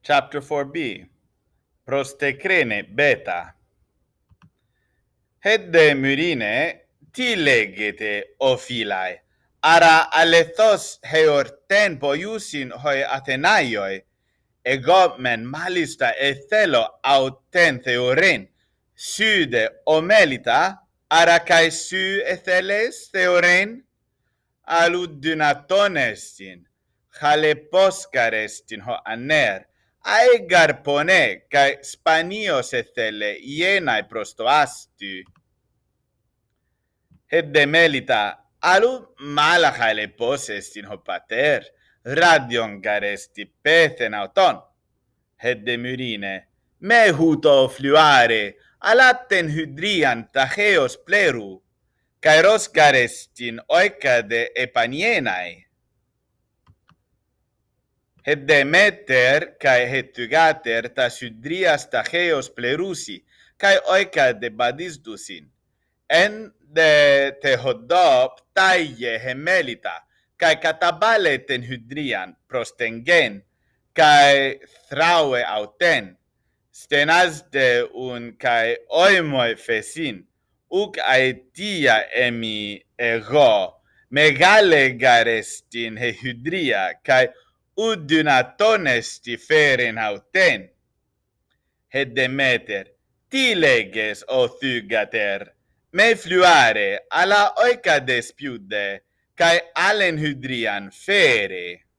Chapter 4b. Prostekrene beta. Hedde myrine tilegete ophilae. Ara alethos heorten poiusin hoi Athenaioi. Ego men malista ethelo auten theoren. Sude omelita. Ara kai su etheles theoren. Aludunatonestin. Haleposkarestin ho aner. Aegar pone kai spanios ethele ienae prostoastu. Hedde melita alu mala haleposestin ho pater. Radion garesti pethen auton. Hedde myrine me huto fluare alatten hydrian tacheos pleru. Kairos garestin oikade epanienae. Het demeter kai hetugater tas hydrias tacheos plerusi, kai oika de badisdusin. En de tehodop taie hemelita, kai katabale ten hydrian prostengen, kai thraue auten. Stenas de un kai oimoi fesin, uk aetia emi ego, megale garestin he hydria, kai udunatones feren auten. Het demeter, tileges o thugater, me fluare ala oika despiude, kai alen hydrian fere.